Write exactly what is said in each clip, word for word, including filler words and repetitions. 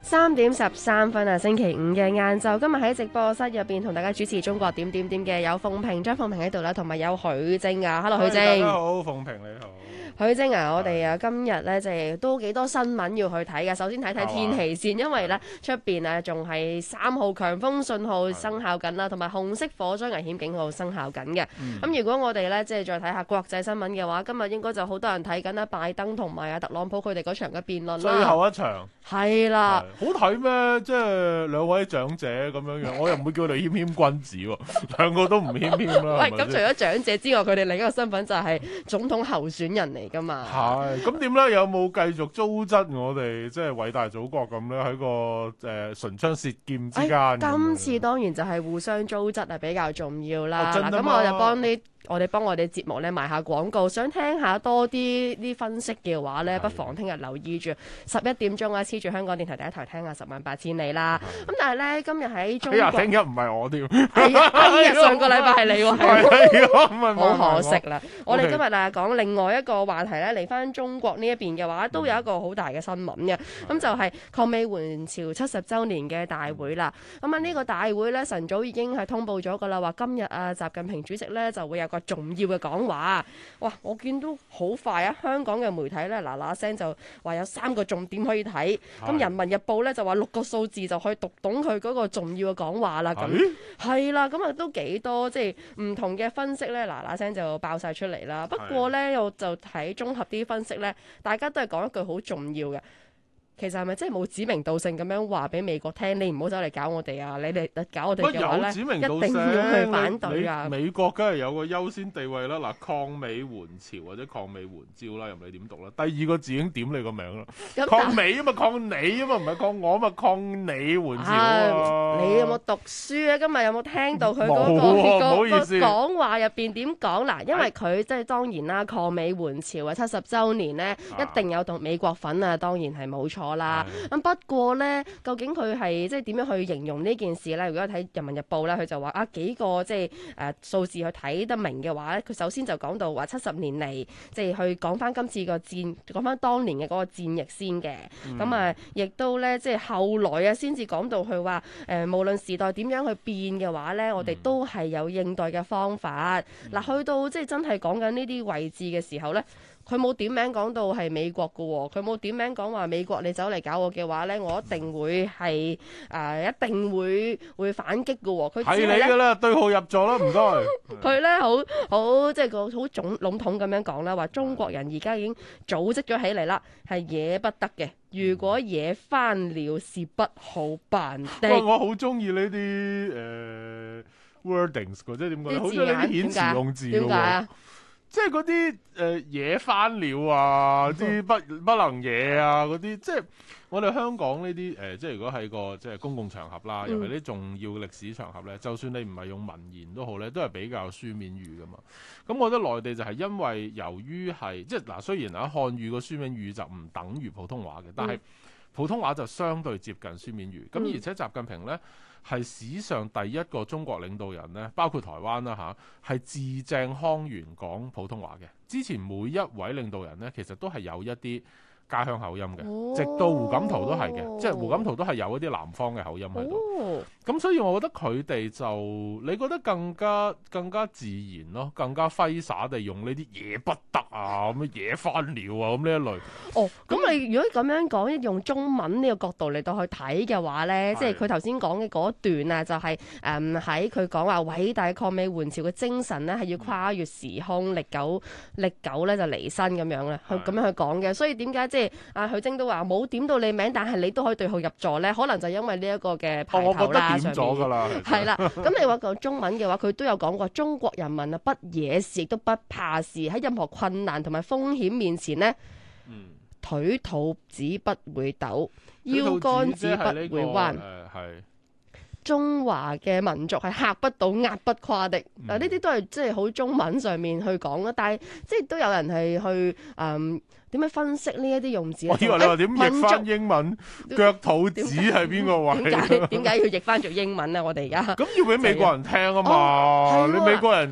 三點十三分啊，星期五嘅晏晝，今日喺直播室入邊同大家主持中國點點點嘅有鳳萍、張鳳萍喺度啦，同埋有許晶啊 ，Hello 許晶。 大家好，鳳萍你好。 許晶啊，我哋啊今日咧就係都幾多新聞要去睇嘅。首先睇睇天氣先，因為咧出邊啊仲係三號強風信號生效緊啦，同埋紅色火災危險警號生效緊嘅。咁、嗯、如果我哋咧即係再睇下國際新聞嘅話，今日應該就好多人睇緊啦，拜登同埋啊特朗普佢哋嗰場嘅辯論啦。 最後一場係啦， 好睇咩？即係兩位長者咁樣樣，我又唔會叫佢哋謙謙君子喎，兩個都唔謙謙啦。 喂，咁除咗長者之外，佢哋另一個身份就係總統候選人嚟㗎嘛。 係，咁點咧？有冇繼續糟質我哋即係偉大祖國咁咧？喺個誒、呃、唇槍舌劍之間、哎。 今次當然就係互相糟質係比較重要啦。嗱、哦，咁我就幫啲。我哋幫我哋節目咧賣下廣告，想聽下多啲啲分析嘅話咧，不妨聽日留意住十一點鐘啊，黐住香港電台第一台聽下十萬八千里啦。咁但係咧，今日喺中國， 哎呀，聽日唔係我添， 係啊，哎呀，上個禮拜係你喎，係好可惜啦。我哋今日啊講另外一個話題咧，嚟翻中國呢一邊嘅話，都有一個好大嘅新聞嘅，咁就係抗美援朝七十週年嘅大會啦。咁啊呢個大會咧晨早已經係通報咗噶啦，話今日啊習近平主席咧就會有個重要嘅講話，哇！我見到好快啊，香港嘅媒體咧嗱嗱聲就話有三個重點可以睇，咁《人民日報》咧就話六個數字就可以讀懂佢嗰個重要嘅講話啦，咁係啦，咁啊都幾多即係唔同嘅分析咧嗱嗱聲就爆晒出嚟啦。不過咧我就睇綜合啲分析咧，大家都係講一句好重要嘅。其實係咪真係冇指名道姓咁樣話俾美國聽？你唔好走嚟搞我哋啊！你哋搞我哋嘅話咧，一定要去反對啊！ 美國梗係有個優先地位啦。嗱，抗美援朝或者抗美援朝啦，任你點讀啦。第二個字已經點你個名啦。抗美啊嘛，抗你啊嘛，唔係抗我啊嘛，抗你援朝啊！ 你有冇讀書啊？今日有冇聽到佢嗰、嗰個、 啊、 個個講話入邊點講嗱？因為佢即係當然啦，抗美援朝啊七十週年咧，一定有同美國份啊，當然係冇錯。啦，咁不過咧，究竟佢係即係點樣去形容呢件事咧？如果睇《人民日報》咧，佢就話啊幾個即係誒數字去睇得明嘅話咧，佢首先就講到話七十年嚟，即係去講翻今次個戰，講翻當年嘅嗰個戰役先嘅。咁、嗯、啊，亦都咧即係後來啊，先至講到佢話誒，無論時代點樣去變嘅話咧，我哋都係有應對嘅方法。嗱、嗯，去到即係真係講緊呢啲位置嘅時候咧。佢冇點名講到係美國嘅喎，佢冇點名講話美國你走嚟搞我嘅話咧，我一定會係誒、呃、一定會會反擊嘅喎。佢係你嘅啦，對號入座啦，唔該。 佢咧好好即係個好總籠統咁樣講啦，話中國人而家已經組織咗起嚟啦，係惹不得嘅。如果惹翻了，是不好辦的。 我好中意呢啲誒 wordings 嘅，即係點講？好中意呢啲遣詞用字嘅喎。點解啊？即係嗰啲誒惹翻了啊，啲不不能惹啊嗰啲，即係我哋香港呢啲誒，即係如果喺個即係公共場合啦，尤其啲重要嘅歷史場合咧，嗯、就算你唔係用文言都好咧，都係比較書面語噶嘛。咁我覺得內地就係因為由於係即係嗱，雖然啊漢語個書面語就唔等於普通話嘅，但係普通話就相對接近書面語。咁、嗯、而且習近平咧，係史上第一個中國領導人咧，包括台灣啦嚇，係字正腔圓講普通話嘅。之前每一位領導人咧，其實都係有一啲家鄉口音嘅，哦、直到胡錦濤都係嘅，即係胡錦濤都係有一啲南方嘅口音喺度。咁、哦、所以我覺得佢哋就，你覺得更加更加自然咯，更加揮灑地用呢啲惹不得啊，咁樣惹翻了啊，咁呢一類。哦， 咁你如果咁樣講，用中文呢個角度嚟到去睇嘅話咧，即係佢頭先講嘅嗰段啊，就係誒喺佢講話偉大抗美援朝嘅精神咧，係要跨越時空，歷久歷久咧就離身咁樣咧，去咁樣去講嘅。所以點解即係阿許晶都話冇點到你名，但係你都可以對號入座咧？可能就因為呢一個嘅排頭啦， 我覺得點咗㗎啦， 係啦。咁你話講中文嘅話，佢都有講過中國人民啊，不惹事亦都不怕事，喺任何困難同埋風險面前呢，嗯、腿肚子不會抖，腰杆子不會彎。中華嘅民族係嚇不倒、壓不垮的。嗱，呢啲都係即係好中文上面去講啦。但係即係都有人係去誒點樣分析呢一啲用字。 我以為你話點譯翻英文，腳肚子係邊個位？ 點解點解要譯翻做英文啊？我哋而家咁要俾美國人聽啊嘛！你美國人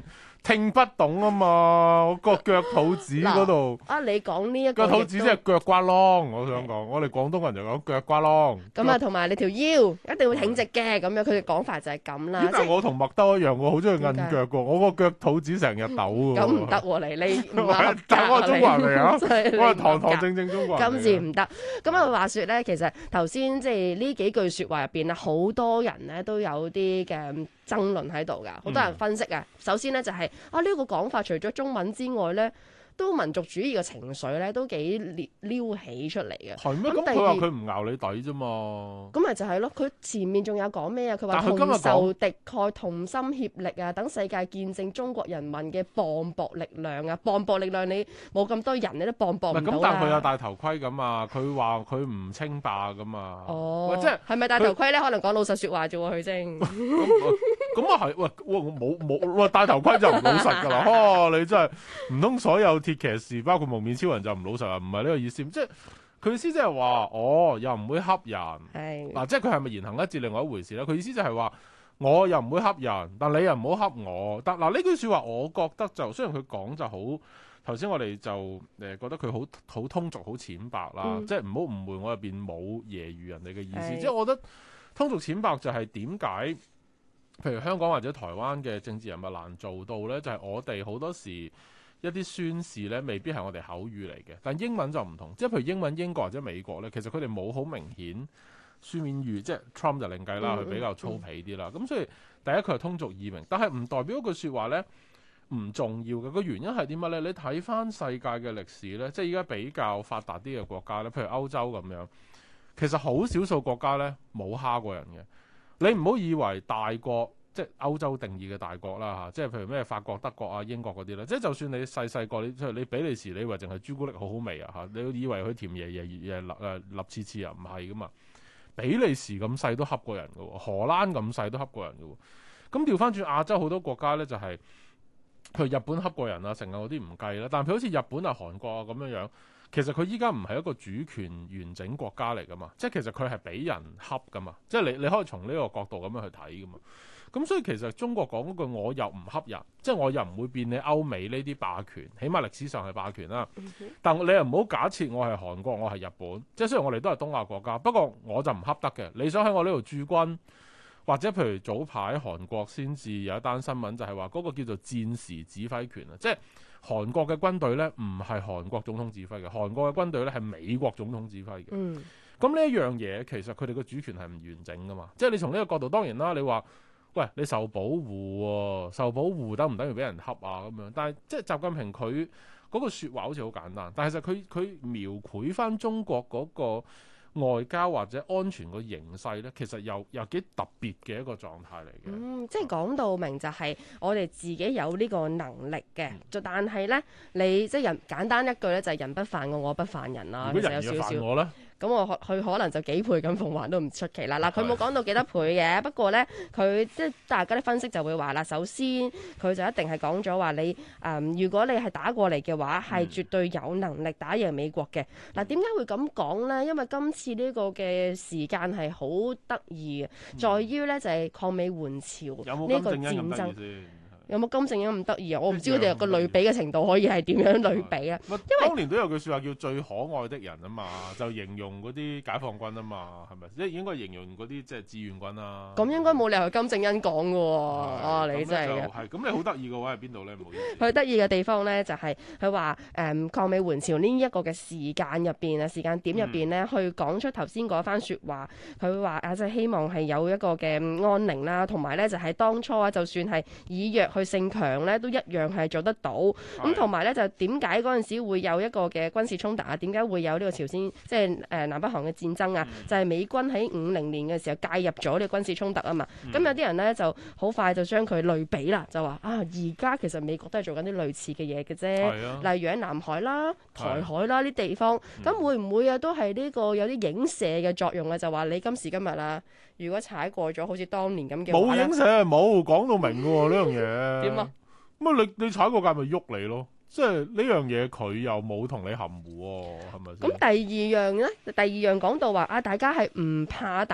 聽不懂啊嘛，我個腳肚子嗰度。 啊，你講呢一個腳肚子即係腳瓜啷，我想講，我哋廣東人就講腳瓜啷。 咁啊，同埋你條腰一定會挺直嘅，咁樣佢哋講法就係咁啦。 但係我同麥兜一樣，我好中意摁腳㗎，我個腳肚子成日抖㗎。 咁唔得喎，你你唔係，但我係中國人嚟啊，我係堂堂正正中國人。 今次唔得。咁啊，話説咧，其實頭先即係呢幾句説話入邊啊，好多人咧都有啲嘅爭論喺度㗎，好多人分析啊。嗯、首先咧就係、是、啊呢、這個講法，除咗中文之外咧，都民族主義嘅情緒咧都幾撩起出嚟嘅。 係咩？咁佢話佢唔咬你底啫嘛。咁咪就係咯，佢前面仲有講咩啊？佢話同仇敵愾，同心協力啊，等世界見證中國人民嘅磅礴力量啊！磅礴力量你冇咁多人，你都磅礴唔到啦。 咁但係佢有戴頭盔咁啊，佢話佢唔稱霸噶嘛。 哦， 即係係咪戴頭盔咧？可能講老實説話啫喎，佢先。 咁啊係，喂，我冇冇，喂戴頭盔就唔老實㗎啦。哦，你真係唔通所有鐵騎士包括蒙面超人就唔老實啊？唔係呢個意思，即係佢意思即係話，哦又唔會恰人。係嗱、啊，即係佢係咪言行一致另外一回事咧？佢意思就係話，我又唔會恰人，但你又唔好恰我。但嗱呢句説話，我覺得就雖然佢講就好，頭先我哋就誒覺得佢好好通俗、好淺白啦，嗯、即係唔好誤會我入邊冇揶揄人哋嘅意思。即係我覺得通俗淺白就係點解？譬如香港或者台灣嘅政治人物難做到呢，就係、是、我哋好多時一啲宣示呢，未必係我哋口語嚟嘅。但英文就唔同，即係譬如英文英國或者美國呢，其實佢哋冇好明顯書面語，即係 Trump 就另計啦，佢比較粗鄙啲啦。咁、嗯嗯、所以第一佢係通俗易明，但係唔代表一句説話呢唔重要嘅。個原因係點乜呢？你睇翻世界嘅歷史呢，即係而家比較發達啲嘅國家呢，譬如歐洲咁樣，其實好少數國家呢冇蝦過人嘅。你唔好以為大國，即係歐洲定義嘅大國啦嚇，即係譬如咩法國、德國啊、英國嗰啲咧，即係就算你細細個，你即係你比利時，你以為淨係朱古力好好味啊嚇，你以為佢甜爺爺誒立誒立次次啊，唔係噶嘛，比利時咁細都恰過人嘅喎，荷蘭咁細都恰過人嘅喎，咁調翻轉亞洲好多國家咧就係、是，譬如日本恰過人啊，成日嗰啲唔計啦，但係譬如好似日本啊、韓國啊咁樣樣。其實佢依家唔係一個主權完整國家嚟噶嘛，即係其實佢係俾人恰噶嘛，即係你你可以從呢個角度咁樣去睇噶嘛。咁所以其實中國講嗰句我又唔恰人，即係我又唔會變你歐美呢啲霸權，起碼歷史上係霸權啦。但你又唔好假設我係韓國，我係日本，即係雖然我哋都係東亞國家，不過我就唔恰得嘅。你想喺我呢度駐軍，或者譬如早排韓國先至有一單新聞，就係話嗰個叫做戰時指揮權啊，即係。韓國嘅軍隊咧唔係韓國總統指揮嘅，韓國嘅軍隊咧係美國總統指揮嘅。嗯，咁呢一樣嘢其實佢哋嘅主權係唔完整噶嘛。即係你從呢個角度，當然啦，你話喂你受保護喎、哦，受保護等唔等於俾人恰啊咁樣？但係即係習近平佢嗰個説話好似好簡單，但係其實佢佢描繪翻中國嗰個外交或者安全個形勢咧，其實又又幾特別嘅一個狀態嚟嘅。 嗯，即係講到明就係我哋自己有呢個能力嘅，就、嗯、但係咧，你即係人簡單一句咧，就係人不犯我，我不犯人啦。 如果人要犯我咧？ 咁我佢可能就幾倍咁奉還都唔出奇啦。嗱，佢冇講到幾多倍嘅，不過咧佢即係大家啲分析就會話啦，首先佢就一定係講咗話你誒、嗯，如果你係打過嚟嘅話，係絕對有能力打贏美國嘅。嗱、嗯，點解會咁講咧？因為今次呢個嘅時間係好得意嘅，嗯、在於咧就係、是、抗美援朝呢個戰爭。有冇金正恩咁得意啊？我唔知佢哋個類比嘅程度可以係點樣類比啊？因為當年都有句説話叫最可愛的人啊嘛，就形容嗰啲解放軍啊嘛，係咪？即係應該形容嗰啲即係志願軍啊。 咁應該冇理由金正恩講嘅喎。啊，你真係係咁，你好得意嘅位係邊度咧？唔好意思。 佢得意嘅地方咧就係佢話誒抗美援朝呢一個嘅時間入邊啊，時間點入邊咧，去講出頭先嗰番説話。佢話啊，即係希望係有一個嘅安寧啦，同埋咧就係當初啊，就算係以弱去勝強咧，都一樣係做得到。咁同埋咧，就點解嗰陣時會有一個嘅軍事衝突啊？點解會有呢個朝鮮即係誒南北韓嘅戰爭啊？嗯、就係美軍喺五零年嘅時候介入咗呢個軍事衝突啊嘛。咁、嗯、有啲人咧就好快就將佢類比啦，就話啊，而家其實美國都係做緊啲類似嘅嘢嘅啫。啊、例如喺南海啦、台海啦呢啲地方，咁、嗯、會唔會啊都係呢個有啲影射嘅作用啊？就話你今時今日啊，如果踩過咗好似當年咁嘅話， 冇影射，冇講到明嘅喎呢樣嘢。點啊？咁啊！你你踩過界咪喐你咯，即係呢樣嘢佢又冇同你含糊喎，係咪先？ 咁第二樣咧，第二樣講到話啊，大家係唔怕打得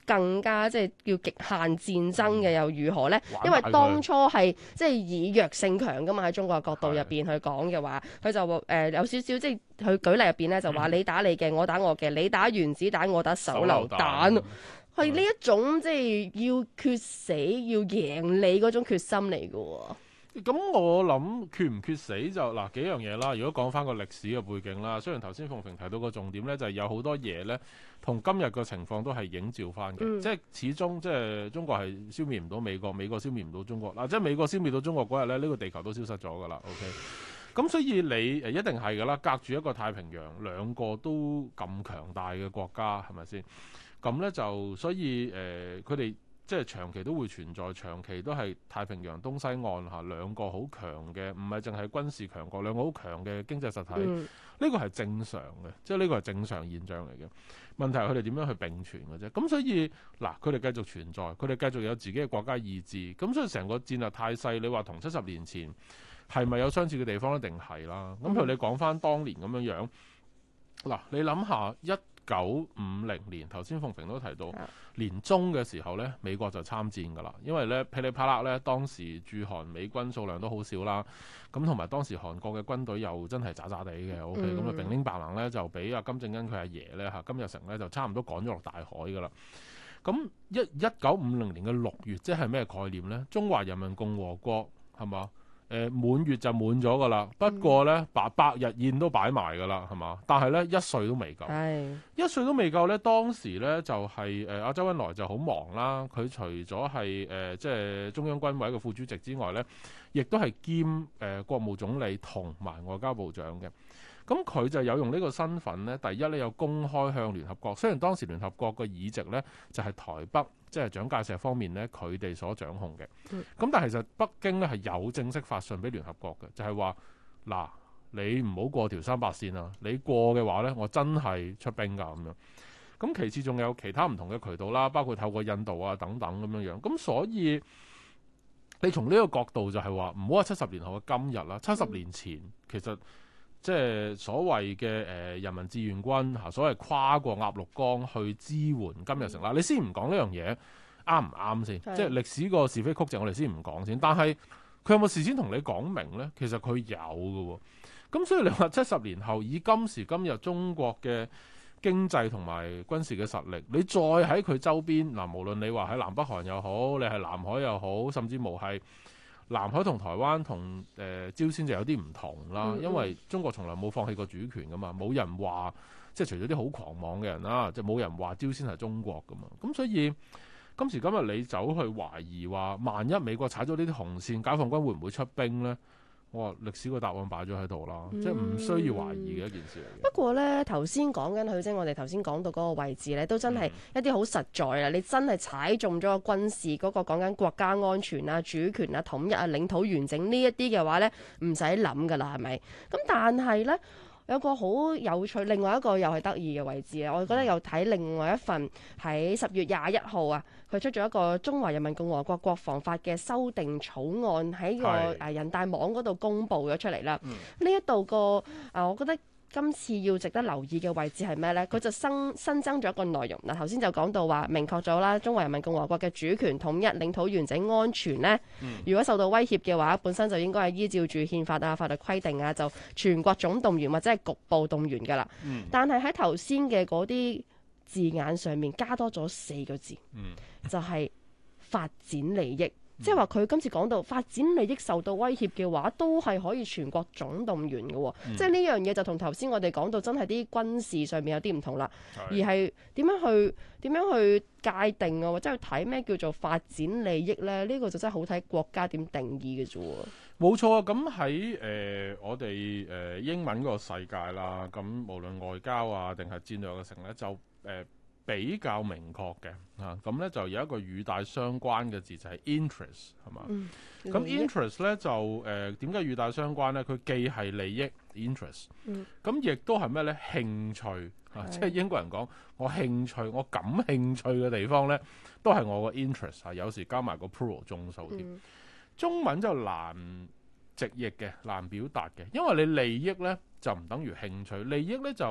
更加即係叫極限戰爭嘅又如何呢？因為當初係即係以弱勝強噶嘛，喺中國角度入邊去講嘅話，佢就話誒、呃、有少少即係佢舉例入邊咧就話你打你嘅，我打我嘅，你打原子彈，我打手榴彈，係呢一種即係要決死要贏你嗰種決心嚟嘅喎。 咁我諗決唔決死就嗱幾樣嘢啦。如果講翻個歷史嘅背景啦，雖然頭先鳳萍提到個重點咧，就係、是、有好多嘢咧，同今日個情況都係映照翻嘅、嗯。即係始終即係中國係消滅唔到美國，美國消滅唔到中國嗱。即係美國消滅到中國嗰日咧，呢、這個地球都消失咗㗎啦。OK，咁所以你誒一定係㗎啦，隔住一個太平洋，兩個都咁強大嘅國家係咪先？咁咧就所以誒佢哋。呃即係長期都會存在，長期都係太平洋東西岸嚇兩個好強嘅，唔係淨係軍事強國，兩個好強嘅經濟實體。呢、嗯、個係正常嘅，即係呢個係正常現象嚟嘅。問題係佢哋點樣去並存嘅啫。咁所以嗱，佢哋繼續存在，佢哋繼續有自己嘅國家意志。咁所以成個戰略態勢，你話同七十年前係咪有相似嘅地方？一定係啦。咁譬如你講翻當年咁樣樣，嗱，你諗下一九五零年，頭先鳳萍都提到年中嘅時候咧，美國就參戰㗎啦。因為咧噼里啪啦咧，當時駐韓美軍數量都好少啦。咁同埋當時韓國嘅軍隊又真係渣渣地嘅。O K，咁啊，兵丁白能咧就俾阿金正恩佢阿爺咧嚇金日成咧就差唔多趕咗落大海㗎啦。咁一一九五零年嘅六月，即係咩概念咧？中華人民共和國係嘛？誒、呃、滿月就滿咗㗎啦，不過咧百百日宴都擺埋㗎啦，係嘛？但係咧一歲都未夠，一歲都未夠咧。當時咧就係誒阿周恩來就好忙啦，佢除咗係誒即係中央軍委嘅副主席之外咧，亦都係兼誒、呃、國務總理同埋外交部長嘅。咁佢就有用呢個身份咧，第一咧有公開向聯合國，雖然當時聯合國嘅議席咧就係、是、台北即係蔣介石方面咧佢哋所掌控嘅，咁、嗯、但係其實北京咧係有正式發信俾聯合國嘅，就係話嗱你唔好過條三八線啊，你過嘅話咧我真係出兵㗎咁樣。咁其次仲有其他唔同嘅渠道啦，包括透過印度啊等等咁樣樣。咁所以你從呢個角度就係話唔好話七十年後嘅今日啦，七十年前其實。即係所謂嘅誒、呃、人民志願軍嚇，所謂跨過鴨綠江去支援金日成啦。你先唔講呢樣嘢啱唔啱先？即係歷史個是非曲直，我哋先唔講先。但係佢有冇事先同你講明呢？其實佢有嘅喎。咁所以你話七十年後以今時今日中國嘅經濟同埋軍事嘅實力，你再喺佢周邊嗱，無論你話喺南北韓又好，你係南海又好，甚至無係。南海同台灣同誒、呃、朝鮮就有啲唔同啦，因為中國從來冇放棄過主權噶嘛，冇人話即係除咗啲好狂妄嘅人啦，即係冇人話朝鮮係中國噶嘛，咁所以今時今日你走去懷疑話，萬一美國踩咗呢啲紅線，解放軍會唔會出兵呢？我話歷史個答案擺咗喺度啦，嗯、即係唔需要懷疑嘅一件事嚟嘅。不過呢，頭先講緊佢即係我哋頭先講到嗰個位置呢，都真係一啲好實在啦、嗯。你真係踩中咗個軍事嗰、嗰個講緊國家安全啊、主權啊、統一啊、領土完整呢一啲嘅話呢，唔使諗㗎啦，係咪？咁但係呢。有個好有趣，另外一個又係得意嘅位置啊！我覺得有睇另外一份喺十月廿一號啊，佢出咗一個中華人民共和國國防法嘅修訂草案喺個誒人大網嗰度公布咗出嚟啦。呢一度個啊，我覺得。今次要值得留意嘅位置係咩呢？佢就新新增咗一個內容嗱，頭先就講到話明確咗啦，中華人民共和國嘅主權統一、領土完整、安全呢，嗯、如果受到威脅嘅話，本身就應該係依照住憲法啊、法律規定啊，就全國總動員或者係局部動員㗎啦。嗯、但係喺頭先嘅嗰啲字眼上面加多咗四個字，嗯、就係發展利益。即係話佢今次講到發展利益受到威脅嘅話，都係可以全國總動員嘅、哦。嗯、即係呢樣嘢就同頭先我哋講到真係啲軍事上面有啲唔同啦，而係點樣去點樣去界定啊，或者去睇咩叫做發展利益咧？呢、呢個就真係好睇國家點定義嘅啫。 冇錯啊！咁喺誒我哋誒、呃、英文個世界啦，咁無論外交啊定係戰略嘅成咧，就誒。呃比較明確嘅嚇，咁、啊、咧就有一個語帶相關嘅字就係、是、interest 係嘛？咁、嗯、interest 咧就誒點解語帶相關咧？佢既係利益 interest，咁亦都係咩咧？興趣嚇，即係英國人講我興趣，我感興趣嘅地方咧，都係我個 interest 啊。有時加埋個 plural 眾數添。嗯、中文就難直譯嘅，難表達嘅，因為你利益咧就唔等於興趣，利益咧就。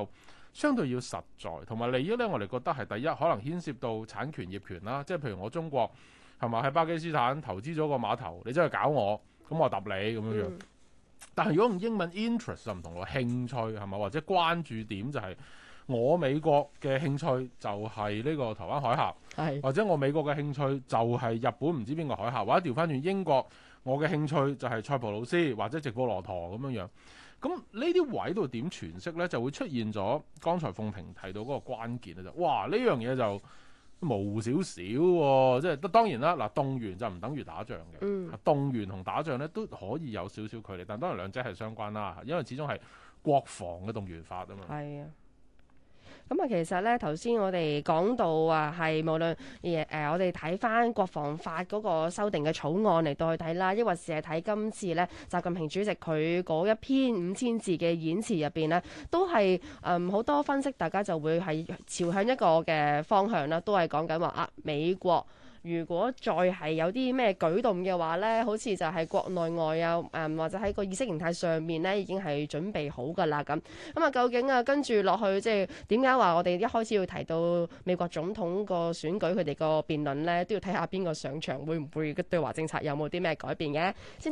相對要實在，同埋利益咧，我哋覺得係第一，可能牽涉到產權業權啦，即係譬如我中國係咪喺巴基斯坦投資咗個碼頭，你真係搞我，咁我揼你咁樣樣。嗯、但係如果用英文 interest 就唔同咯，興趣係咪？或者關注點就係我美國嘅興趣就係呢個台灣海峽， 係或者我美國嘅興趣就係日本唔知邊個海峽，或者調翻轉英國，我嘅興趣就係塞浦路斯或者直布羅陀咁樣樣。咁呢啲位度點詮釋呢？就會出現咗剛才鳳萍提到嗰個關鍵啊！就哇呢樣嘢就模糊少少喎，即係當然啦，嗱動員就唔等於打仗嘅，嗯、動員同打仗咧都可以有少少距離，但當然兩者係相關啦，因為始終係國防嘅動員法啊嘛。係啊。 咁啊，其實咧，頭先我哋講到啊，係無論誒、呃、我哋睇翻國防法嗰個修訂嘅草案嚟到去睇啦，抑或是係睇今次咧，習近平主席佢嗰一篇五千字嘅演詞入邊咧，都係誒好多分析，大家就會係朝向一個嘅方向啦，都係講緊話啊，美國如果再係有啲咩舉動嘅話呢，好似就係國內外啊，誒、嗯、或者喺個意識形態上面呢已經係準備好㗎啦咁。咁啊，究竟啊跟住落去，即係點解話我哋一開始要提到美國總統個選舉佢哋個辯論呢，都要睇下邊個上場，會唔會對華政策有冇啲咩改變嘅？先